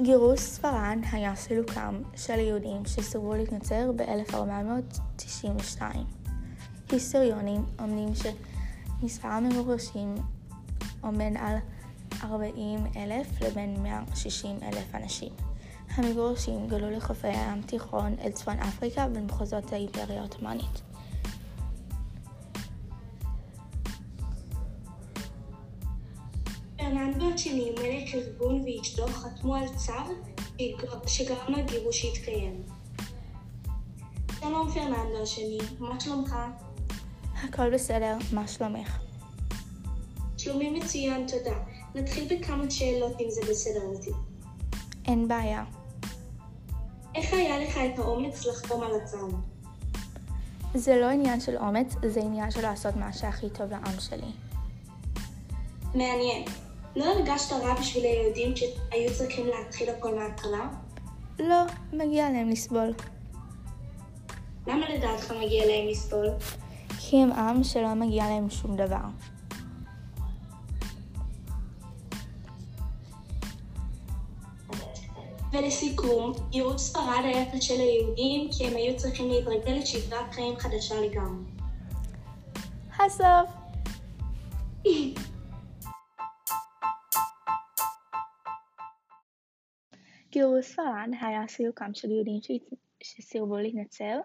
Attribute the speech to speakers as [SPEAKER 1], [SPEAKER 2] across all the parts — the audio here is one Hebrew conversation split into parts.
[SPEAKER 1] גירוש ספרד היה סילוקם של יהודים שסירבו להתנצר ב-1492. היסטוריונים אומרים שמספר המגורשים עומד על 40,000 לבין 160,000 אנשים. המגורשים גלו לחופי הים התיכון אל צפון אפריקה ולמחוזות האימפריה העות'מאנית.
[SPEAKER 2] פרננדו השני, מלך ארגון ואשתו חתמו על צו שגרם לגירוש שהתקיים. שלום פרננדו השני, מה שלומך?
[SPEAKER 1] הכל בסדר, מה שלומך?
[SPEAKER 2] שלומי מצוין, תודה. נתחיל בכמה שאלות אם זה בסדר אותי.
[SPEAKER 1] אין בעיה.
[SPEAKER 2] איך היה לך את האומץ לחתום על הצו?
[SPEAKER 1] זה לא עניין של אומץ, זה עניין של לעשות מה שהכי טוב לעם שלי.
[SPEAKER 2] מעניין. לא הרגשת רע בשביל היהודים שהיו צריכים להתחיל הכל מההתחלה?
[SPEAKER 1] לא, מגיע להם לסבול.
[SPEAKER 2] למה לדעתך מגיע להם לסבול?
[SPEAKER 1] כי הם עם שלא מגיע להם שום דבר.
[SPEAKER 2] ולסיכום, גירוש ספרד היה קשה ליהודים כי הם היו צריכים להתרגל לשגרת חיים חדשה לגמרי.
[SPEAKER 1] הסוף! גירוש ספרד היה סילוקם של יהודים שסירבו להתנצר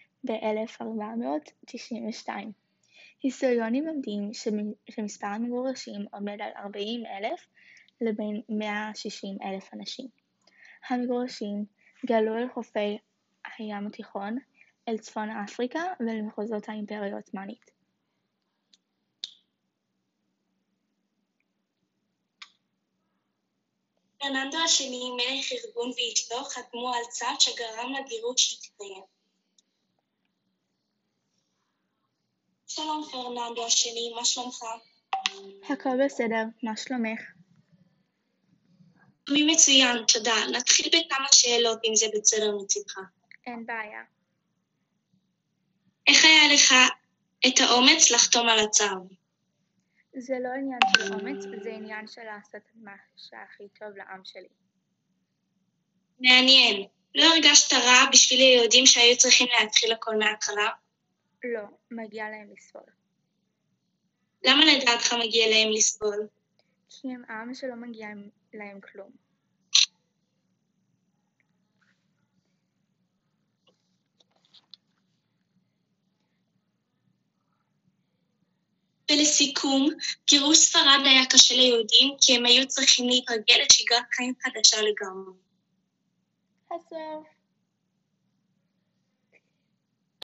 [SPEAKER 1] ב-1492. היסטוריונים לומדים שמספר המגורשים עומד על 40,000 לבין 160,000 אנשים. המגורשים גלו אל חופי הים התיכון, אל צפון אפריקה ולמחוזות האימפריה העות'מאנית.
[SPEAKER 2] פרננדו השני, מלך ארגון ואשתו חתמו על צו שגרם לגירוש שהתקיים. שלום פרננדו השני, מה שלומך?
[SPEAKER 1] הכל בסדר, מה שלומך?
[SPEAKER 2] שלומי מצוין, תודה. נתחיל בכמה שאלות אם זה בסדר מצדך.
[SPEAKER 1] אין בעיה.
[SPEAKER 2] איך היה לך את האומץ לחתום על הצו?
[SPEAKER 1] זה לא עניין של אומץ, זה עניין של לעשות מה שהכי טוב לעם שלי.
[SPEAKER 2] מעניין. לא הרגשת רע בשביל היהודים שהיו צריכים להתחיל הכל מההתחלה?
[SPEAKER 1] לא, מגיע להם לסבול.
[SPEAKER 2] למה לדעתך מגיע להם לסבול?
[SPEAKER 1] כי הם עם שלא מגיע להם כלום.
[SPEAKER 2] ולסיכום, גירוש ספרד היה קשה ליהודים כי הם היו צריכים להתרגל לשגרת חיים חדשה לגמרי.
[SPEAKER 1] הסוף.